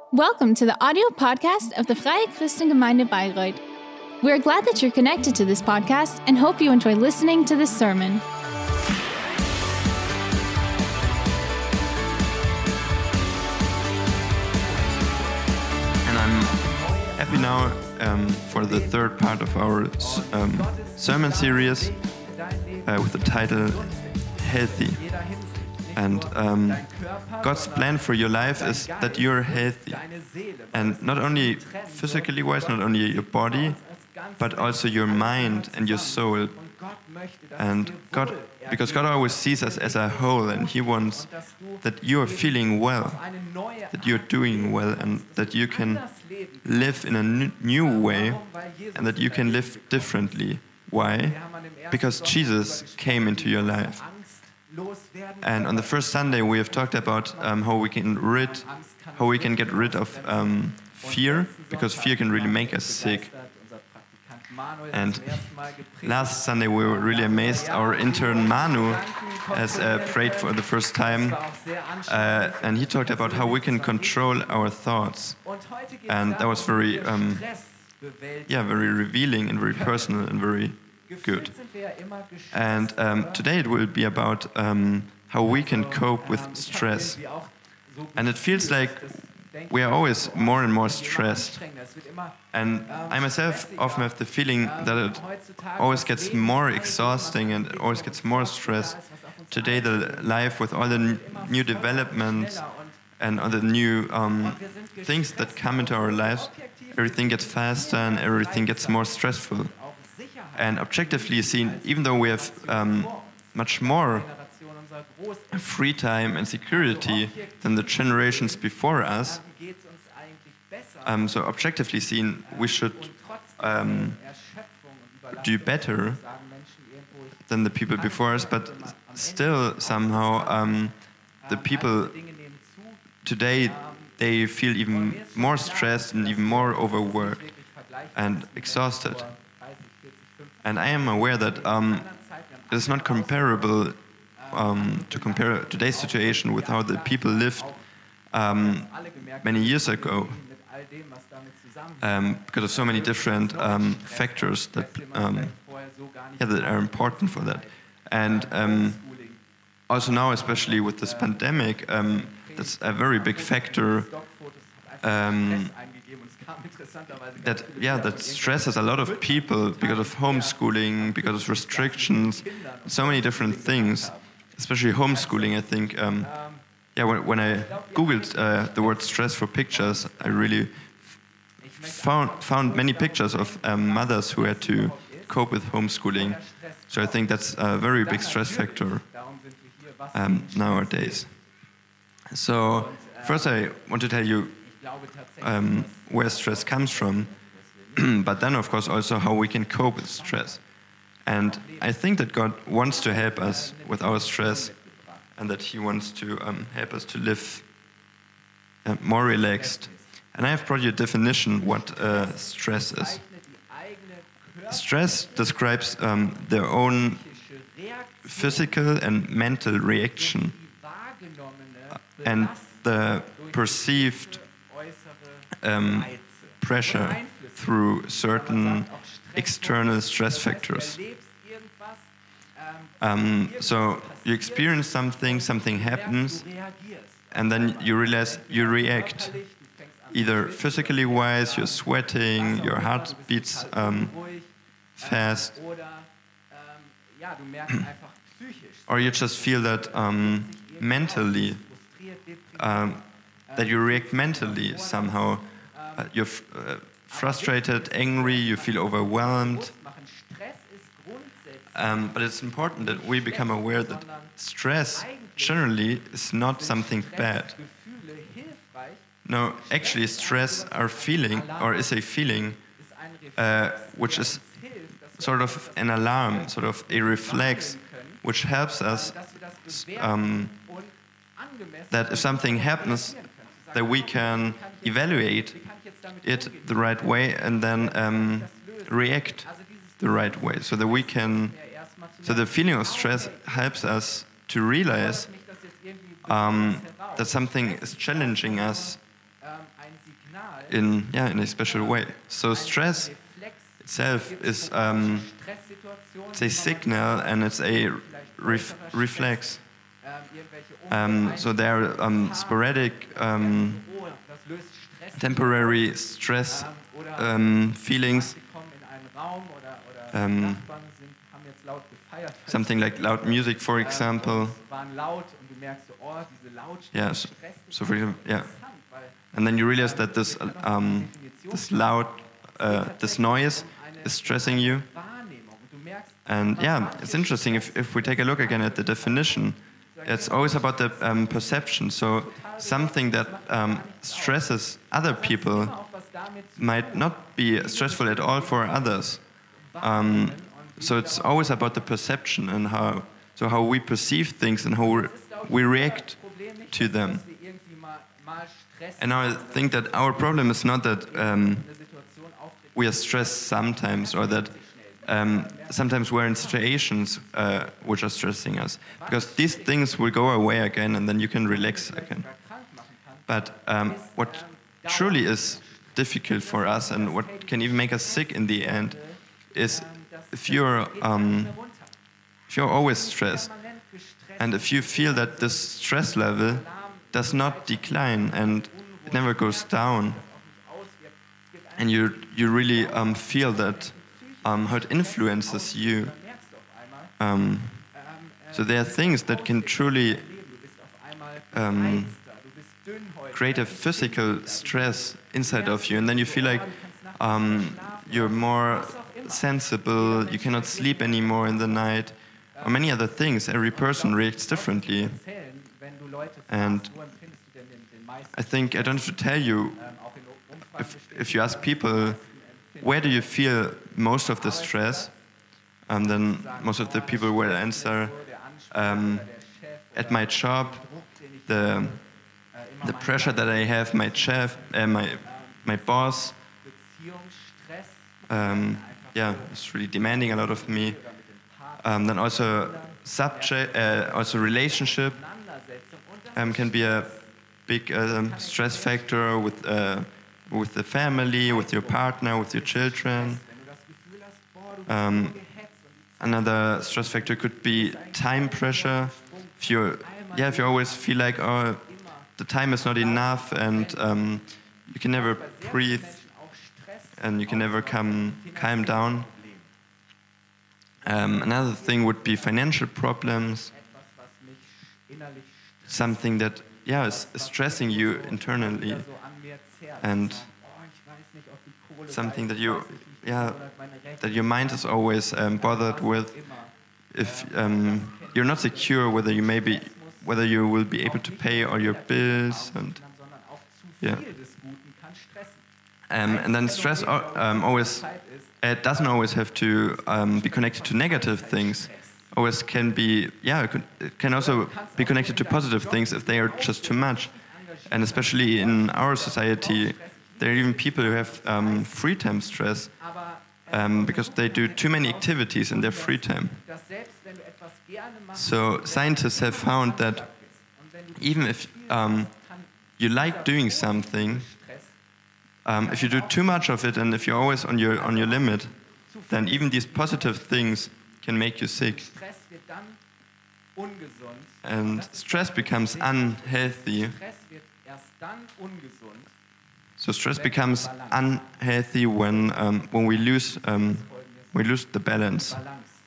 Welcome to the audio podcast of the Freie Christengemeinde Bayreuth. We're glad that you're connected to this podcast and hope you enjoy listening to this sermon. And I'm happy now for the third part of our sermon series with the title Healthy. And God's plan for your life is that you're healthy. And not only physically wise, not only your body, but also your mind and your soul. And God, because God always sees us as a whole, and He wants that you're feeling well, that you're doing well, and that you can live in a new way, and that you can live differently. Why? Because Jesus came into your life. And on the first Sunday, we have talked about how we can get rid of fear, because fear can really make us sick. And last Sunday, we were really amazed. Our intern Manu has prayed for the first time, and he talked about how we can control our thoughts. And that was very revealing and very personal and very good. And today it will be about how we can cope with stress. And it feels like we are always more and more stressed. And I myself often have the feeling that it always gets more exhausting and it always gets more stressed. Today the life with all the new developments and all the new things that come into our lives, everything gets faster and everything gets more stressful. And objectively seen, even though we have much more free time and security than the generations before us, so objectively seen, we should do better than the people before us, but still somehow the people today, they feel even more stressed and even more overworked and exhausted. And I am aware that it's not comparable to compare today's situation with how the people lived many years ago, because of so many different factors that are important for that. And also now, especially with this pandemic, that's a very big factor that stresses a lot of people because of homeschooling, because of restrictions, so many different things. Especially homeschooling, I think. When I googled the word stress for pictures, I really found many pictures of mothers who had to cope with homeschooling. So I think that's a very big stress factor nowadays. So first, I want to tell you where stress comes from, but then, of course, also how we can cope with stress. And I think that God wants to help us with our stress, and that He wants to help us to live more relaxed. And I have brought you a definition what stress is. Stress describes their own physical and mental reaction and the perceived pressure through certain external stress factors. So you experience something happens, and then you realize you react. Either physically wise, you're sweating, your heart beats fast, or you just feel that mentally, that you react mentally somehow. You're frustrated, angry, you feel overwhelmed. But it's important that we become aware that stress generally is not something bad. No, actually stress is a feeling which is sort of an alarm, sort of a reflex, which helps us that if something happens, that we can evaluate it the right way and then react the right way, so that we can. So the feeling of stress helps us to realize that something is challenging us in a special way. So stress itself is it's a signal and it's a reflex. So there are sporadic, temporary stress feelings. Something like loud music, for example. Yeah. So for example, yeah. And then you realize that this loud, this noise is stressing you. And yeah, it's interesting if we take a look again at the definition. It's always about the perception. So something that stresses other people might not be stressful at all for others. So it's always about the perception and how we perceive things and how we react to them. And now I think that our problem is not that we are stressed sometimes, or that sometimes we're in situations which are stressing us, because these things will go away again and then you can relax again. But what truly is difficult for us and what can even make us sick in the end is if you're always stressed and if you feel that this stress level does not decline and it never goes down, and you really feel that how it influences you. So there are things that can truly create a physical stress inside of you, and then you feel like you're more sensible, you cannot sleep anymore in the night, or many other things. Every person reacts differently. And I think I don't have to tell you, if you ask people, where do you feel most of the stress? Then most of the people will answer, at my job, the pressure that I have, my chef, my boss. It's really demanding a lot of me. Then also also relationship can be a big stress factor with the family, with your partner, with your children. Another stress factor could be time pressure. If you always feel like, oh, the time is not enough, and you can never breathe, and you can never calm down. Another thing would be financial problems. Something that is stressing you internally, and something that that your mind is always bothered with. If you're not secure whether you will be able to pay all your bills, and and then stress always doesn't always have to be connected to negative things. Always can be it can also be connected to positive things if they are just too much. And especially in our society, there are even people who have free time stress because they do too many activities in their free time. So scientists have found that even if you like doing something, if you do too much of it and if you're always on your limit, then even these positive things can make you sick. And stress becomes unhealthy. So stress becomes unhealthy when we lose the balance.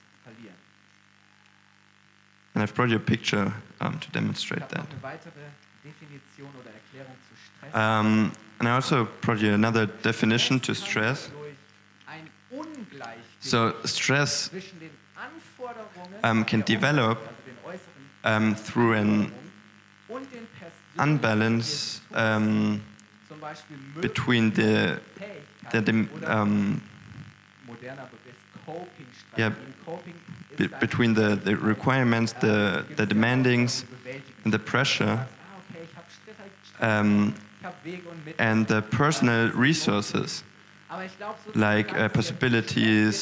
And I've brought you a picture to demonstrate that. And I also brought you another definition to stress. So stress can develop through an unbalance between between the requirements, the demandings, and the pressure, and the personal resources, like possibilities,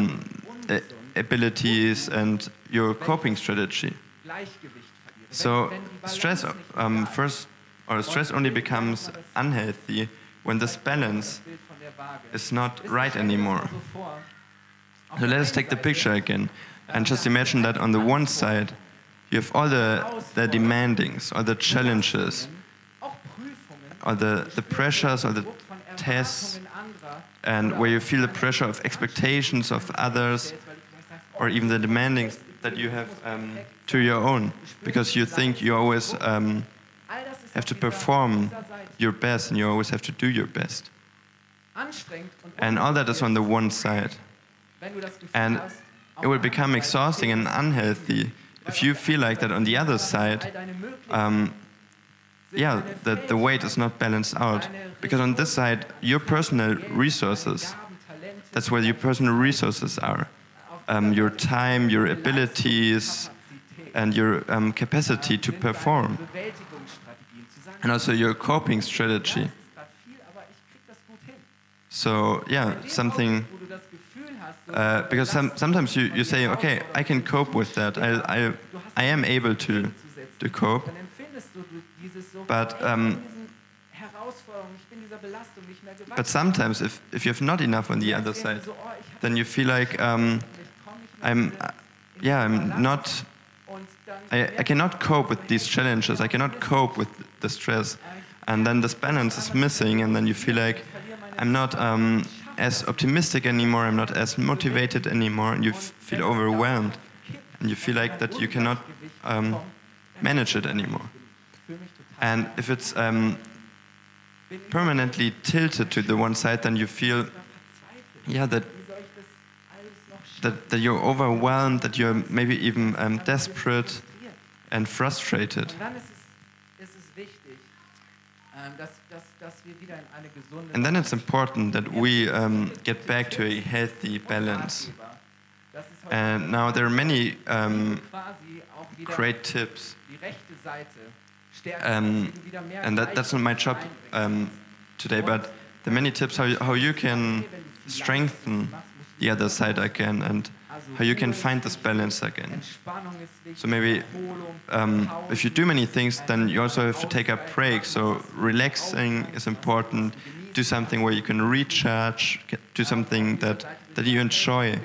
abilities, and your coping strategy. So stress first or stress only becomes unhealthy when this balance is not right anymore. So let us take the picture again and just imagine that on the one side you have all the demandings, all the challenges, or the pressures, or the tests, and where you feel the pressure of expectations of others, or even the demandings that you have to your own, because you think you always have to perform your best and you always have to do your best. And all that is on the one side. And it will become exhausting and unhealthy if you feel like that on the other side, that the weight is not balanced out. Because on this side, your personal resources, that's where your personal resources are. Your time, your abilities, and your capacity to perform. And also your coping strategy. So, something... because sometimes you say, okay, I can cope with that. I am able to cope. But sometimes, if you have not enough on the other side, then you feel like I cannot cope with these challenges. I cannot cope with the stress, and then this balance is missing, and then you feel like I'm not as optimistic anymore. I'm not as motivated anymore, and you feel overwhelmed, and you feel like that you cannot manage it anymore. And if it's permanently tilted to the one side, then you feel, that you're overwhelmed, that you're maybe even desperate and frustrated. And then it's important that we get back to a healthy balance. And now there are many great tips. And that's not my job today, but there are many tips how you can strengthen the other side again and how you can find this balance again. So maybe if you do many things, then you also have to take a break. So relaxing is important. Do something where you can recharge. Do something that you enjoy.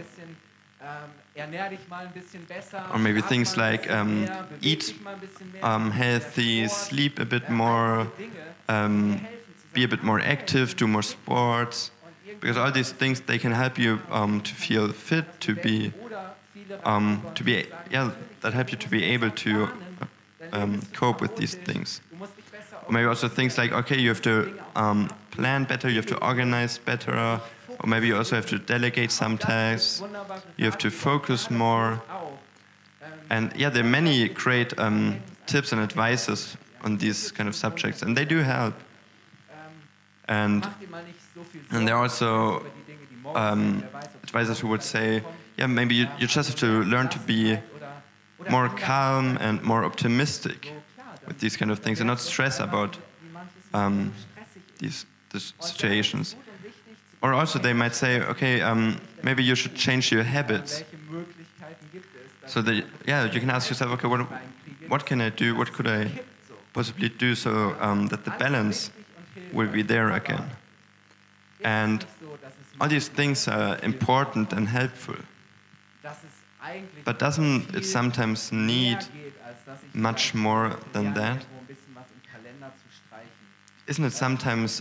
Or maybe things like eat healthy, sleep a bit more, be a bit more active, do more sports. Because all these things, they can help you to feel fit, that help you to be able to cope with these things. Or maybe also things like, okay, you have to plan better, you have to organize better, or maybe you also have to delegate some tasks, you have to focus more. And there are many great tips and advices on these kind of subjects, and they do help. And there are also advisors who would say, maybe you just have to learn to be more calm and more optimistic with these kind of things and not stress about these situations. Or also they might say, okay, maybe you should change your habits. So that, you can ask yourself, okay, what can I do? What could I possibly do so that the balance will be there again? And all these things are important and helpful. But doesn't it sometimes need much more than that? Isn't it sometimes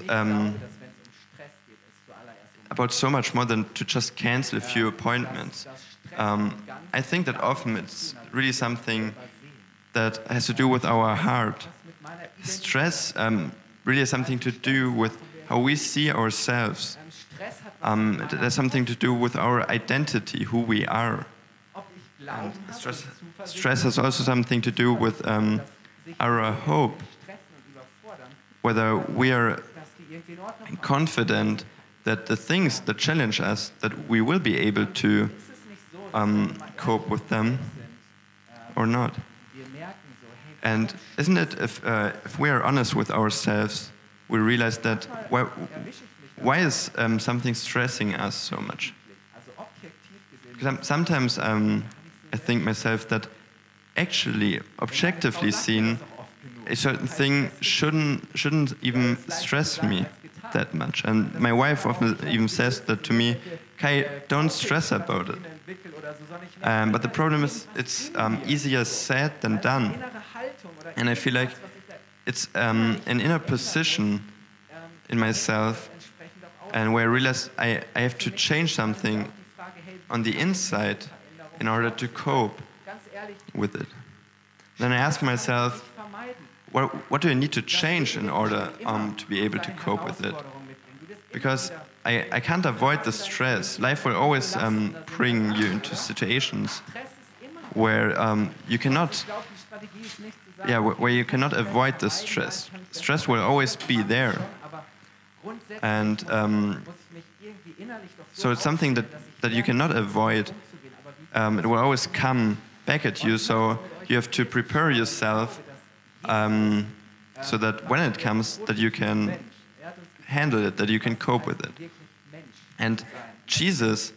about so much more than to just cancel a few appointments? I think that often it's really something that has to do with our heart. Stress really has something to do with how we see ourselves. It has something to do with our identity, who we are. And stress has also something to do with our hope, whether we are confident that the things that challenge us, that we will be able to cope with them or not. And isn't it, if we are honest with ourselves, we realize that why is something stressing us so much? Because sometimes I think myself that actually, objectively seen, a certain thing shouldn't even stress me that much. And my wife often even says that to me, Kai, don't stress about it. But the problem is, it's easier said than done. And I feel like it's an inner position in myself, and where I realize I have to change something on the inside in order to cope with it. Then I ask myself, what do I need to change in order to be able to cope with it? Because I can't avoid the stress. Life will always bring you into situations where you cannot, where you cannot avoid the stress. Stress will always be there, and so it's something that you cannot avoid. It will always come back at you. So you have to prepare yourself so that when it comes, that you can handle it, that you can cope with it. And Jesus,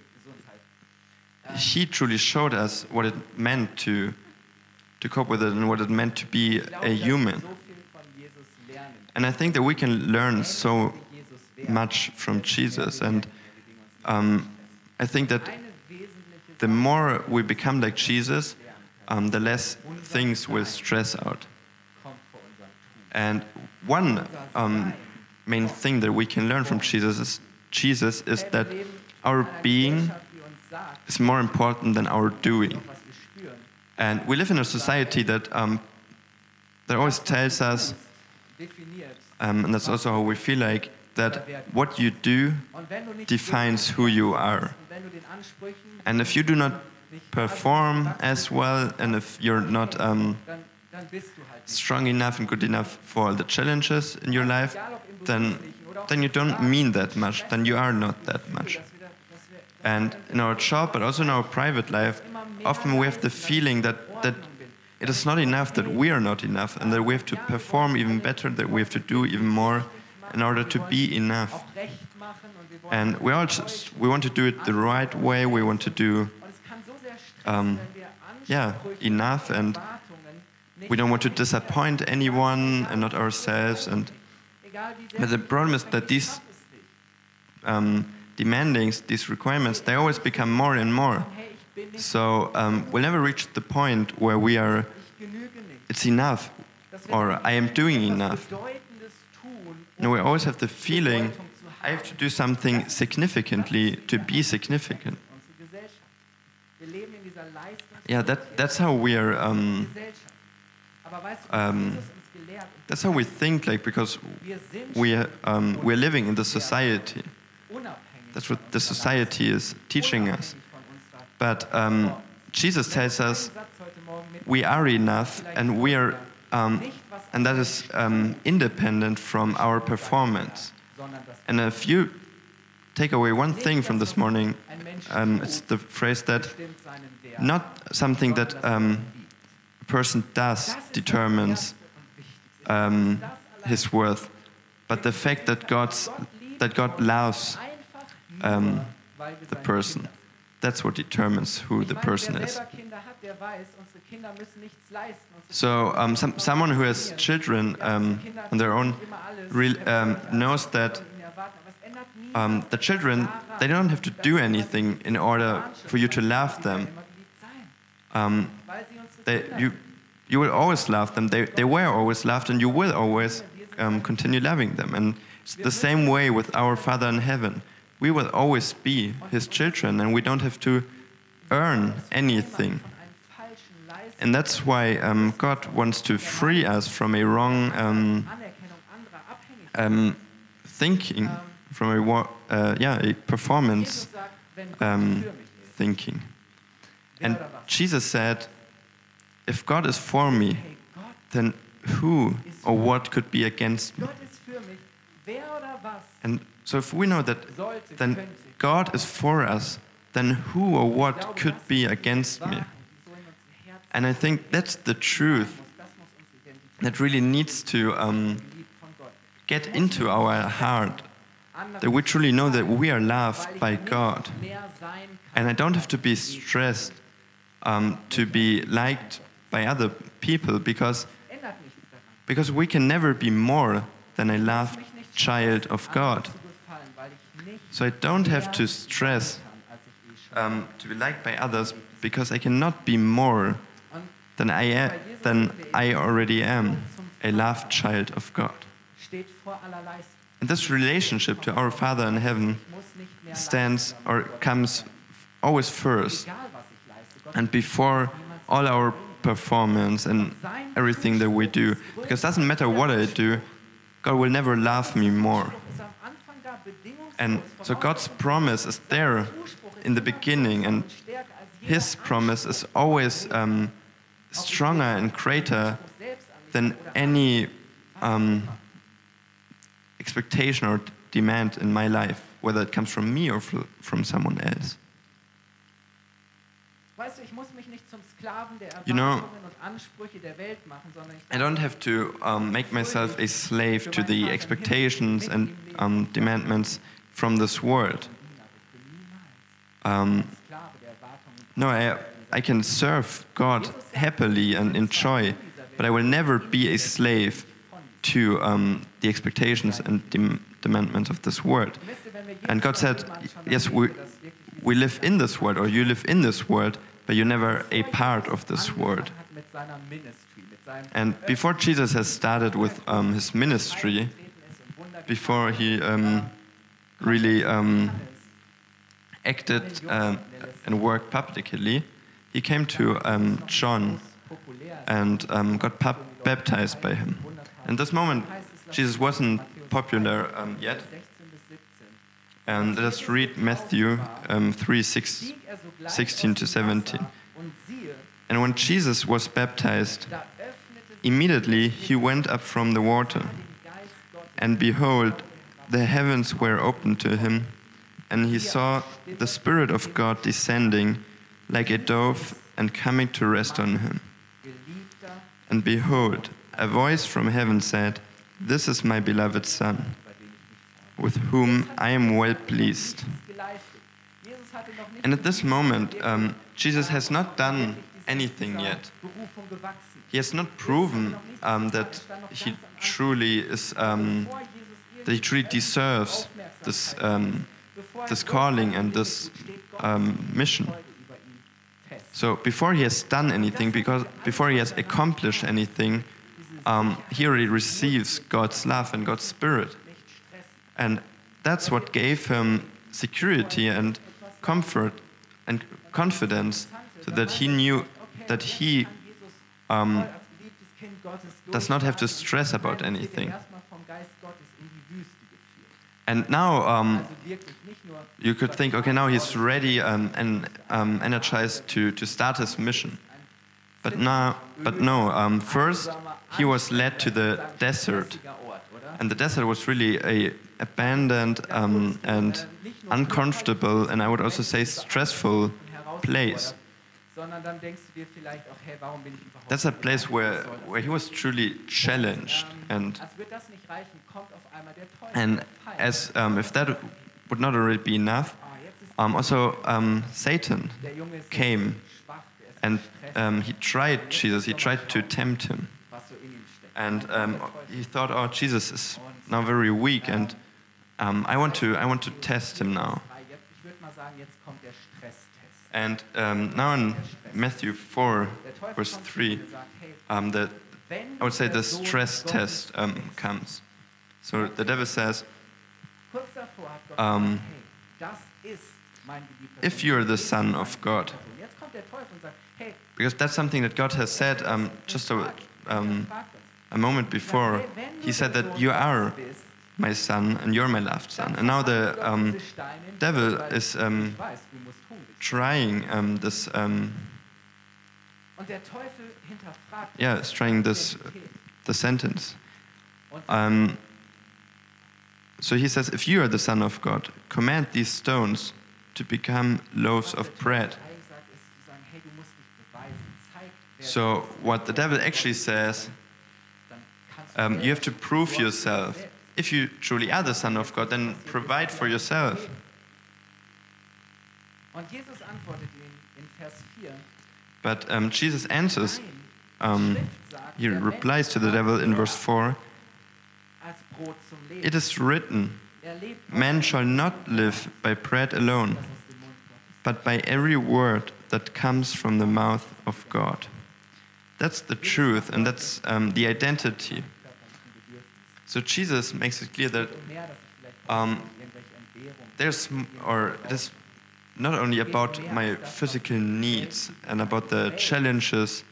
he truly showed us what it meant to cope with it and what it meant to be a human. And I think that we can learn so much from Jesus. And I think that the more we become like Jesus, the less things will stress out. And one main thing that we can learn from Jesus is that our being is more important than our doing. And we live in a society that always tells us, and that's also how we feel like, that what you do defines who you are. And if you do not perform as well, and if you're not strong enough and good enough for the challenges in your life, then you don't mean that much, then you are not that much. And in our job, but also in our private life, often we have the feeling that it is not enough, that we are not enough, and that we have to perform even better, that we have to do even more in order to be enough. And we want to do it the right way. We want to do enough, and we don't want to disappoint anyone and not ourselves. But the problem is that these demandings, these requirements, they always become more and more. So we'll never reach the point where we are, it's enough, or I am doing enough. No, we always have the feeling, I have to do something significantly to be significant. Yeah, that's how we are. That's how we think, like, because we're living in the society. That's what the society is teaching us. But Jesus tells us we are enough, and we are, and that is independent from our performance. And if you take away one thing from this morning, it's the phrase that not something that a person does determines his worth, but the fact that God loves the person. That's what determines who the person is. So someone who has children on their own knows that the children, they don't have to do anything in order for you to love them. You will always love them. They were always loved, and you will always continue loving them. And it's the same way with our Father in heaven. We will always be His children, and we don't have to earn anything. And that's why God wants to free us from a wrong thinking, from a performance thinking. And Jesus said, if God is for me, then who or what could be against me? And so if we know that then God is for us, then who or what could be against me? And I think that's the truth that really needs to get into our heart, that we truly know that we are loved by God. And I don't have to be stressed to be liked by other people, because Because we can never be more than a loved child of God. So I don't have to stress to be liked by others, because I cannot be more than I already am, a loved child of God. And this relationship to our Father in heaven stands or comes always first and before all our performance and everything that we do. Because it doesn't matter what I do, God will never love me more. And so God's promise is there in the beginning, and His promise is always stronger and greater than any expectation or demand in my life, whether it comes from me or from someone else. You know, I don't have to make myself a slave to the expectations and demandments from this world. No, I can serve God happily and enjoy, but I will never be a slave to the expectations and demandments of this world. And God said, yes, we live in this world, or you live in this world, but you're never a part of this world. And before Jesus has started with his ministry, before he really acted and worked publicly, he came to John and got baptized by him. In this moment, Jesus wasn't popular yet. And let us read Matthew 3:16 to 17. And when Jesus was baptized, immediately he went up from the water. And behold, the heavens were opened to him, and he saw the Spirit of God descending like a dove and coming to rest on him. And behold, a voice from heaven said, "This is my beloved Son, with whom I am well pleased." And at this moment, Jesus has not done anything yet. He has not proven that he truly is, that he truly deserves this calling and this mission. So before he has done anything, before he has accomplished anything, he already receives God's love and God's Spirit. And that's what gave him security and comfort and confidence, so that he knew that he does not have to stress about anything. And now you could think, okay, now he's ready and energized to start his mission. But no. First, he was led to the desert, and the desert was really a abandoned and uncomfortable, and I would also say stressful place. That's a place where he was truly challenged, and as if that would not already be enough, also Satan came, and he tried Jesus. He tried to tempt him, and he thought, "Oh, Jesus is now very weak, and I want to test him now." And now in Matthew 4, verse 3, I would say the stress test comes. So the devil says, "If you're the Son of God," because that's something that God has said just a moment before. He said that you are my son and you're my loved son. And now the devil is trying this. It's trying this the sentence. So he says, "If you are the Son of God, command these stones to become loaves of bread." So what the devil actually says, you have to prove yourself. If you truly are the Son of God, then provide for yourself. But Jesus answers he replies to the devil in verse 4, "It is written, man shall not live by bread alone, but by every word that comes from the mouth of God." That's the truth, and that's the identity. So Jesus makes it clear that it is not only about my physical needs and about the challenges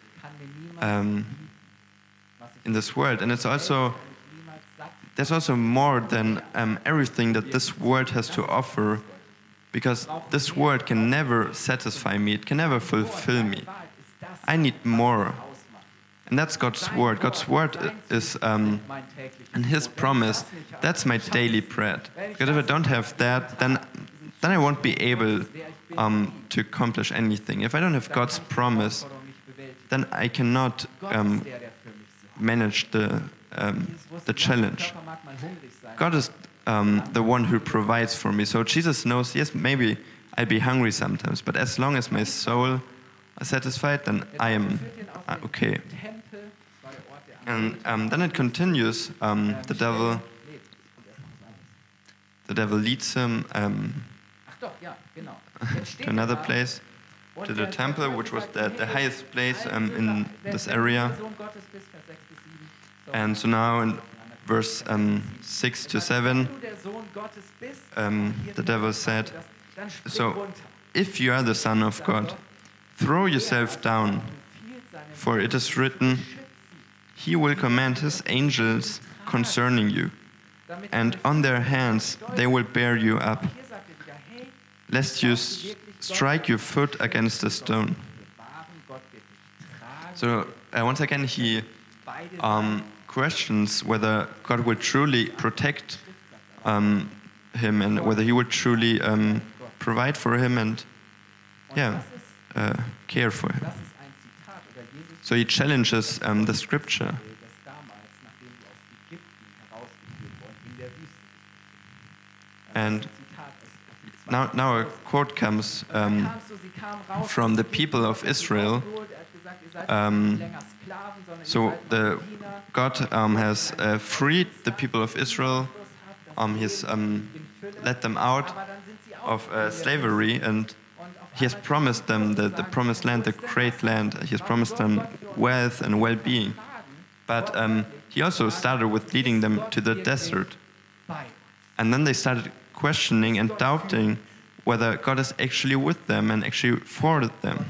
in this world, and there's also more than everything that this world has to offer, because this world can never satisfy me, it can never fulfill me. I need more. And that's God's word. God's word is, and His promise, that's my daily bread. Because if I don't have that, then I won't be able to accomplish anything. If I don't have God's promise, then I cannot manage the challenge. God is the one who provides for me. So Jesus knows, yes, maybe I'll be hungry sometimes, but as long as my soul is satisfied, then I am okay. And then it continues. The devil leads him to another place, to the temple, which was the highest place in this area. And so now in verse 6 to 7, the devil said, "So if you are the Son of God, throw yourself down, for it is written, He will command His angels concerning you, and on their hands they will bear you up, lest you strike your foot against a stone." So once again he questions whether God will truly protect him and whether He will truly provide for him and care for him. So he challenges the scripture. And now a quote comes from the people of Israel. So God has freed the people of Israel. He's let them out of slavery, and He has promised them the promised land, the great land. He has promised them wealth and well-being. But He also started with leading them to the desert. And then they started questioning and doubting whether God is actually with them and actually for them.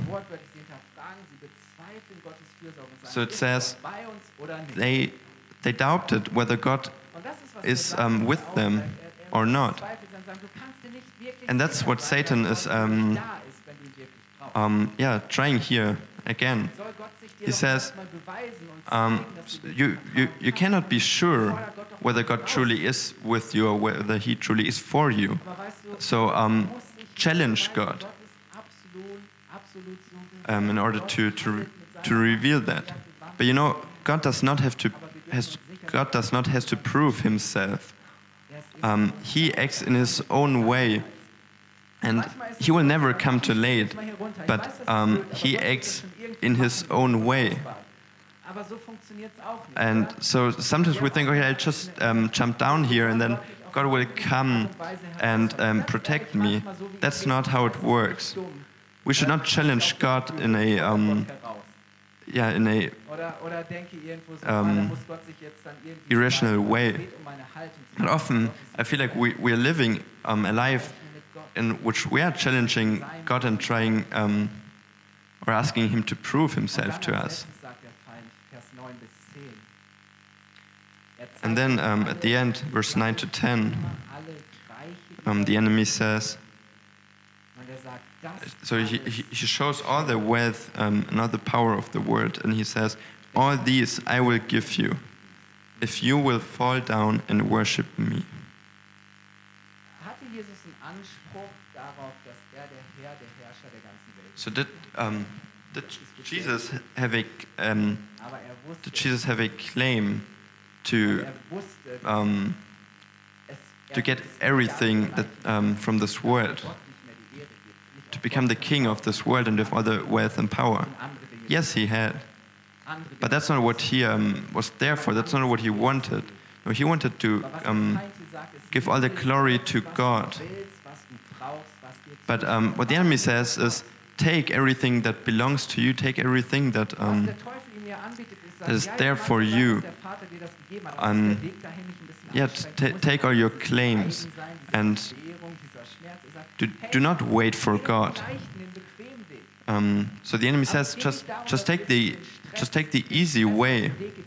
So it says they doubted whether God is with them or not. And that's what Satan is trying here again. He says, you cannot be sure whether God truly is with you or whether He truly is for you. So challenge God in order to reveal that. But you know, God does not have to prove Himself. He acts in His own way. And He will never come too late, but He acts in His own way. And so sometimes we think, okay, I'll just jump down here and then God will come and protect me. That's not how it works. We should not challenge God in a irrational way. And often I feel like we are living a life in which we are challenging God and trying or asking Him to prove Himself to us. And then at the end, verse 9 to 10, the enemy says, so he shows all the wealth and all the power of the world, and he says, "All these I will give you, if you will fall down and worship me." So did Jesus have a claim to get everything that from this world, to become the king of this world and have all the wealth and power? Yes, He had. But that's not what he was there for. That's not what he wanted. No, he wanted to give all the glory to God. But what the enemy says is, take everything that belongs to you, take everything that is there for you. Take all your claims and do not wait for God. So the enemy says, just take the easy way,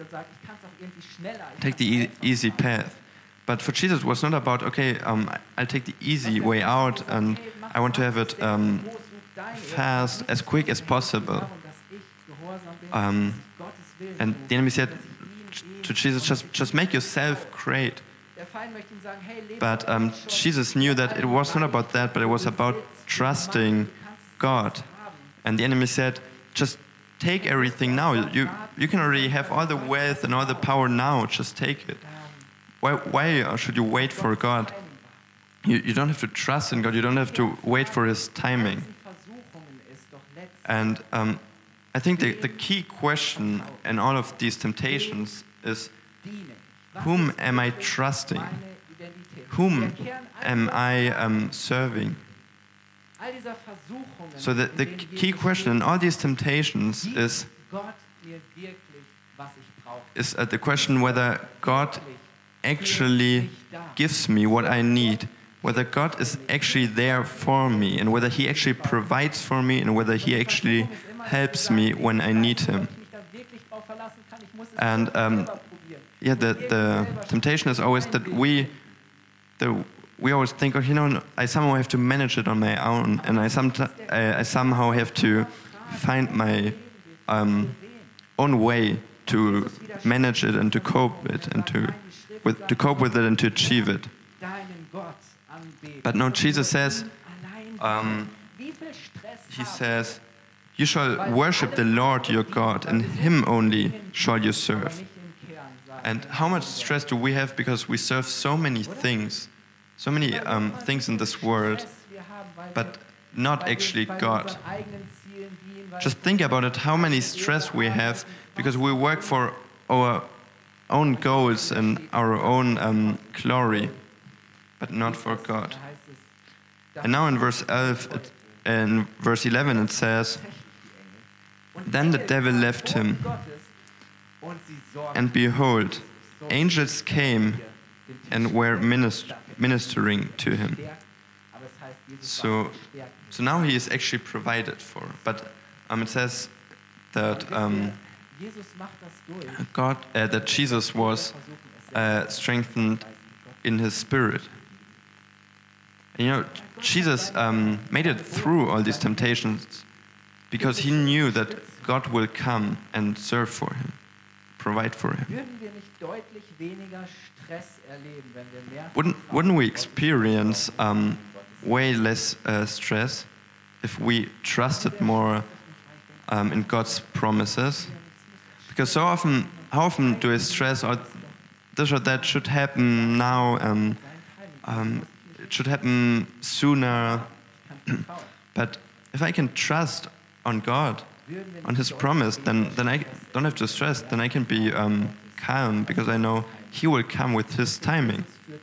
take the easy path. But for Jesus, it was not about, okay, I'll take the easy way out and I want to have it fast, as quick as possible. And the enemy said to Jesus, just make yourself great. But Jesus knew that it was not about that, but it was about trusting God. And the enemy said, just take everything now. You can already have all the wealth and all the power now. Just take it. Why should you wait for God? You don't have to trust in God. You don't have to wait for His timing. And I think the key question in all of these temptations is, whom am I trusting? Whom am I serving? So the key question in all these temptations is the question whether God actually gives me what I need, whether God is actually there for me, and whether He actually provides for me, and whether He actually helps me when I need Him. And the temptation is always that we always think, I somehow have to manage it on my own, and I somehow have to find my own way to manage it and to cope with it and to achieve it. But no, Jesus says, He says, you shall worship the Lord your God, and Him only shall you serve. And how much stress do we have because we serve so many things in this world, but not actually God. Just think about it, how many stress we have because we work for our own goals and our own glory, but not for God. And now in verse 11 it says, then the devil left him, and behold, angels came and were ministering to him. So now he is actually provided for. But it says that that Jesus was strengthened in his spirit. And Jesus made it through all these temptations because he knew that God will come and serve for him, provide for him. Wouldn't we experience way less stress if we trusted more in God's promises? Because so often, how often do I stress, or this or that should happen now, it should happen sooner. But if I can trust on God, on His promise, then I don't have to stress. Then I can be calm because I know He will come with His timing.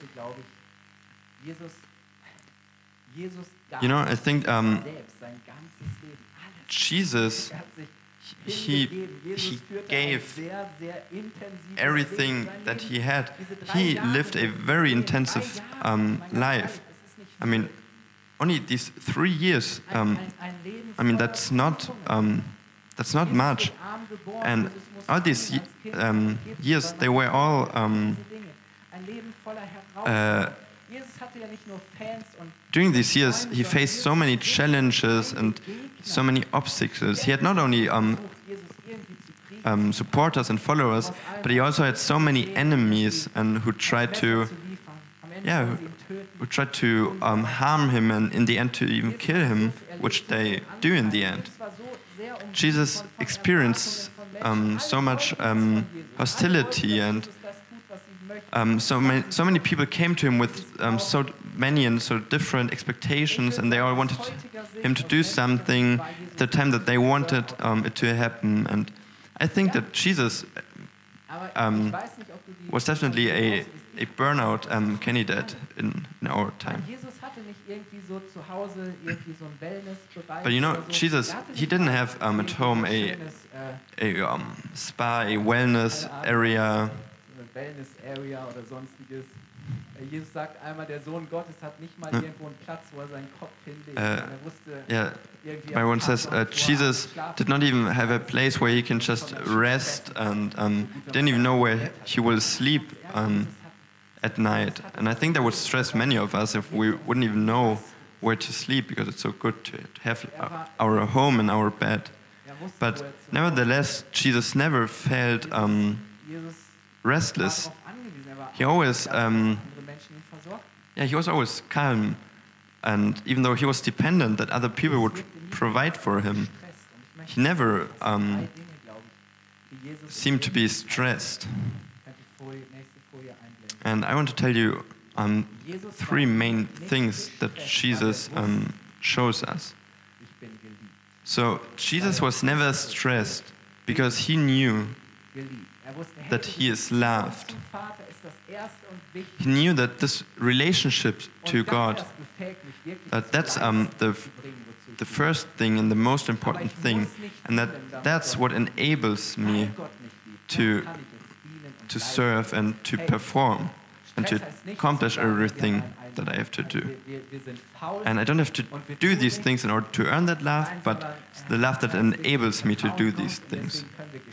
I think Jesus, he gave everything that He had. He lived a very intensive life. I mean, only these 3 years. That's not much. And all these years, they were all during these years, he faced so many challenges and so many obstacles. He had not only supporters and followers, but he also had so many enemies and who tried to harm him and in the end to even kill him, which they do in the end. Jesus experienced so much hostility, and so many people came to him with so many and so different expectations, and they all wanted him to do something at the time that they wanted it to happen. And I think that Jesus was definitely a burnout candidate in our time. But you know, Jesus, he didn't have at home a spa, a wellness area. Jesus sagt einmal, der Sohn Gottes hat nicht mal irgendwo einen Platz, wo seinen Kopf hinlegt. Er wusste, my one says Jesus did not even have a place where he can just rest and didn't even know where he will sleep at night. And I think that would stress many of us if we wouldn't even know where to sleep, because it's so good to have our home and our bed. But nevertheless, Jesus never felt restless. He always, he was always calm, and even though he was dependent that other people would provide for him, he never seemed to be stressed. And I want to tell you three main things that Jesus shows us. So Jesus was never stressed because he knew that he is loved. He knew that this relationship to God, that's the first thing and the most important thing, and that's what enables me to serve and to perform and to accomplish everything that I have to do. And I don't have to do these things in order to earn that love, but it's the love that enables me to do these things.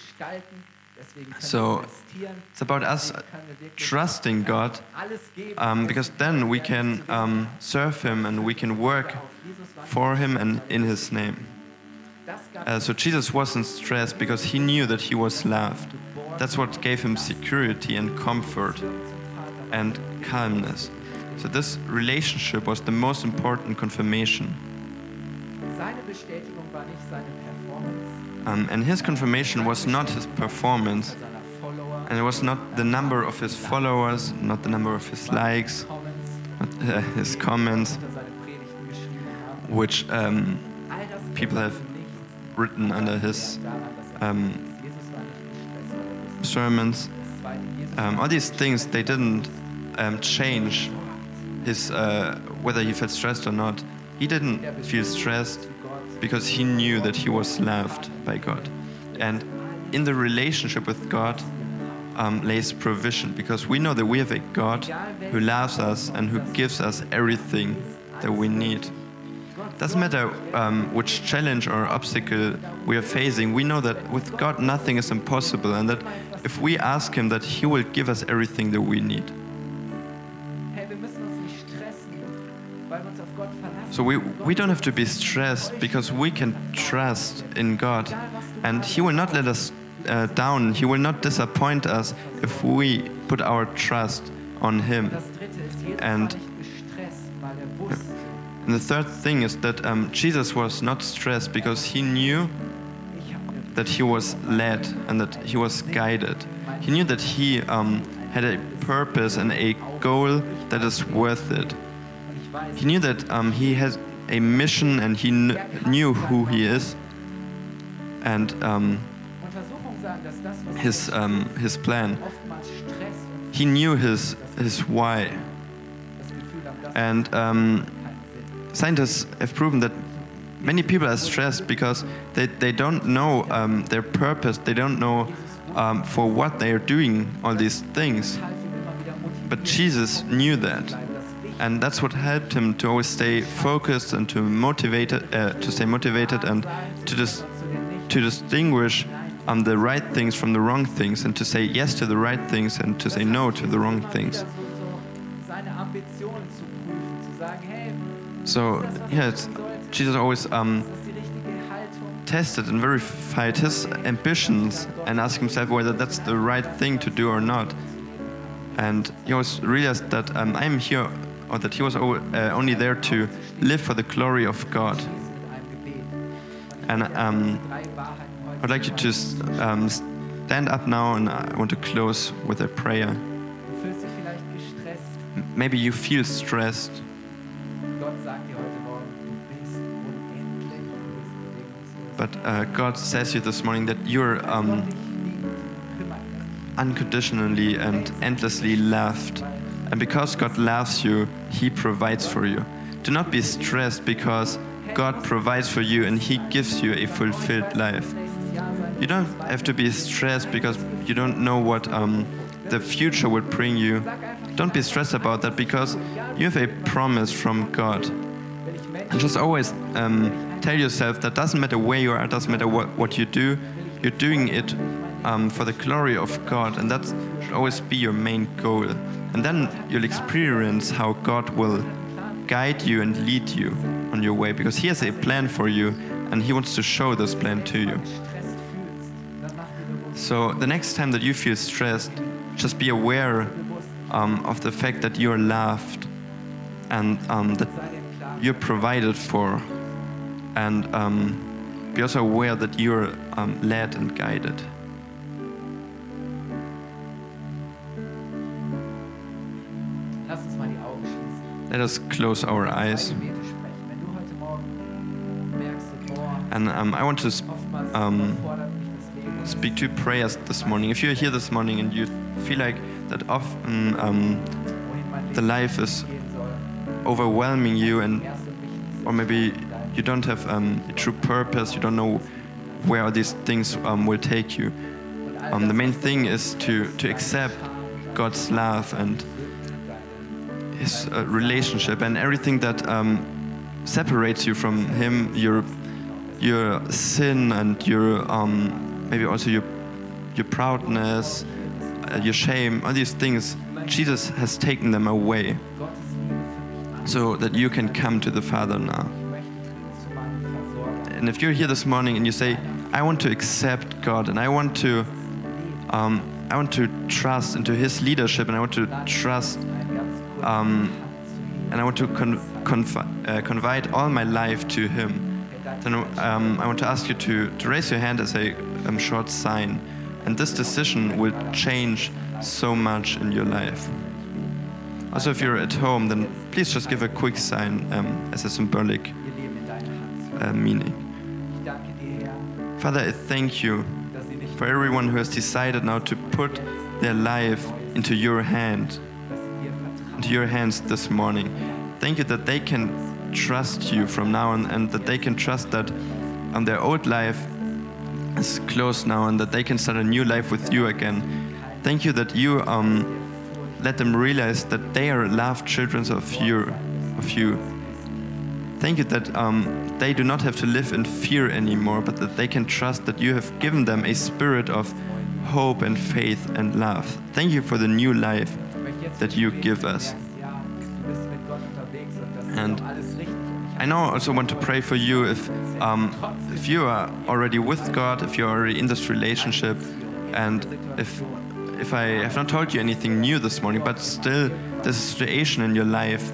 So it's about us trusting God, because then we can serve Him and we can work for Him and in His name. So Jesus wasn't stressed because he knew that he was loved. That's what gave him security and comfort and calmness. So this relationship was the most important confirmation. And his confirmation was not his performance, and it was not the number of his followers, not the number of his likes, not his comments, which people have written under his sermons. All these things, they didn't change his whether he felt stressed or not. He didn't feel stressed because he knew that he was loved by God. And in the relationship with God lays provision, because we know that we have a God who loves us and who gives us everything that we need. Doesn't matter which challenge or obstacle we are facing, we know that with God nothing is impossible, and that if we ask Him, that He will give us everything that we need. So we don't have to be stressed because we can trust in God, and He will not let us down. He will not disappoint us if we put our trust on Him. And the third thing is that Jesus was not stressed because He knew that He was led and that He was guided. He knew that He had a purpose and a goal that is worth it. He knew that He has a mission, and He knew who He is, and His plan. He knew His why. And scientists have proven that many people are stressed because they don't know their purpose. They don't know for what they are doing all these things. But Jesus knew that. And that's what helped him to always stay focused and to stay motivated and to distinguish the right things from the wrong things, and to say yes to the right things and to say no to the wrong things. So Jesus always tested and verified his ambitions and asked himself whether that's the right thing to do or not. And he always realized that I'm here, or that he was only there to live for the glory of God. And I'd like you to stand up now, and I want to close with a prayer. Maybe you feel stressed. But God says to you this morning that you're unconditionally and endlessly loved. And because God loves you, He provides for you. Do not be stressed because God provides for you and He gives you a fulfilled life. You don't have to be stressed because you don't know what the future will bring you. Don't be stressed about that because you have a promise from God. And just always tell yourself that doesn't matter where you are, it doesn't matter what you do, you're doing it for the glory of God, and that should always be your main goal. And then you'll experience how God will guide you and lead you on your way, because He has a plan for you and He wants to show this plan to you. So the next time that you feel stressed, just be aware of the fact that you're loved and that you're provided for, and be also aware that you're led and guided. Let us close our eyes. And I want to speak two prayers this morning. If you're here this morning and you feel like that often the life is overwhelming you, or maybe you don't have a true purpose, you don't know where these things will take you. The main thing is to accept God's love and His relationship, and everything that separates you from Him, your sin and your maybe also your proudness, your shame, all these things. Jesus has taken them away, so that you can come to the Father now. And if you're here this morning and you say, I want to accept God and I want to trust into His leadership, and I want to trust and I want to confide all my life to Him, then I want to ask you to raise your hand as a short sign. And this decision will change so much in your life. Also, if you're at home, then please just give a quick sign as a symbolic meaning. Father, I thank you for everyone who has decided now to put their life into your hands this morning. Thank you that they can trust you from now on, and that they can trust that their old life is closed now, and that they can start a new life with you again. Thank you that you let them realize that they are loved children of you. Thank you that they do not have to live in fear anymore, but that they can trust that you have given them a spirit of hope and faith and love. Thank you for the new life that you give us. And I now also want to pray for you if you are already with God, if you're already in this relationship, and if I have not told you anything new this morning, but still there's a situation in your life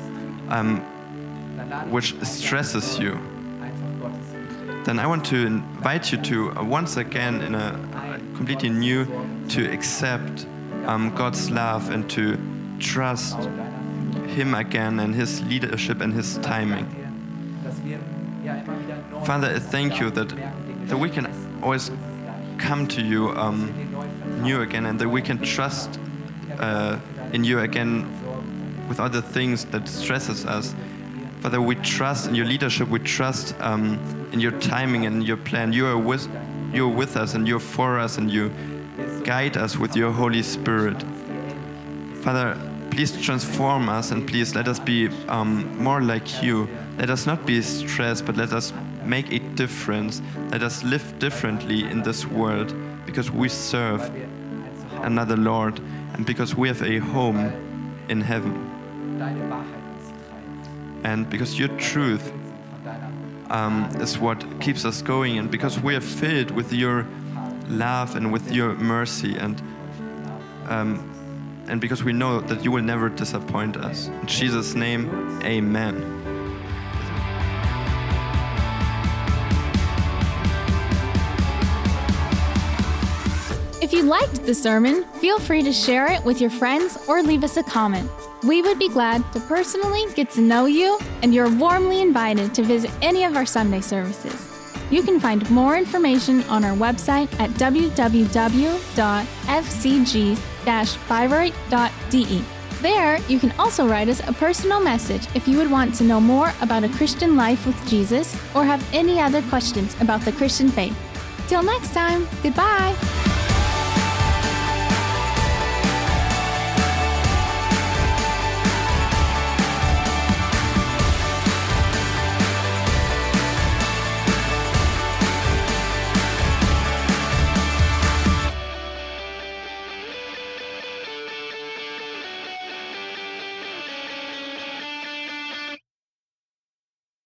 which stresses you, then I want to invite you to once again, in a completely new, to accept God's love and to trust Him again and His leadership and His timing. Father, I thank you that we can always come to you new again, and that we can trust in you again with other things that stresses us. Father, we trust in your leadership, we trust in your timing and your plan. You're with us and you're for us, and you guide us with your Holy Spirit. Father, please transform us, and please let us be more like you. Let us not be stressed, but let us make a difference. Let us live differently in this world, because we serve another Lord and because we have a home in heaven. And because your truth is what keeps us going, and because we are filled with your love and with your mercy, and because we know that you will never disappoint us. In Jesus' name, amen. If you liked the sermon, feel free to share it with your friends or leave us a comment. We would be glad to personally get to know you, and you're warmly invited to visit any of our Sunday services. You can find more information on our website at www.fcg-bayreuth.de. There, you can also write us a personal message if you would want to know more about a Christian life with Jesus or have any other questions about the Christian faith. Till next time, goodbye!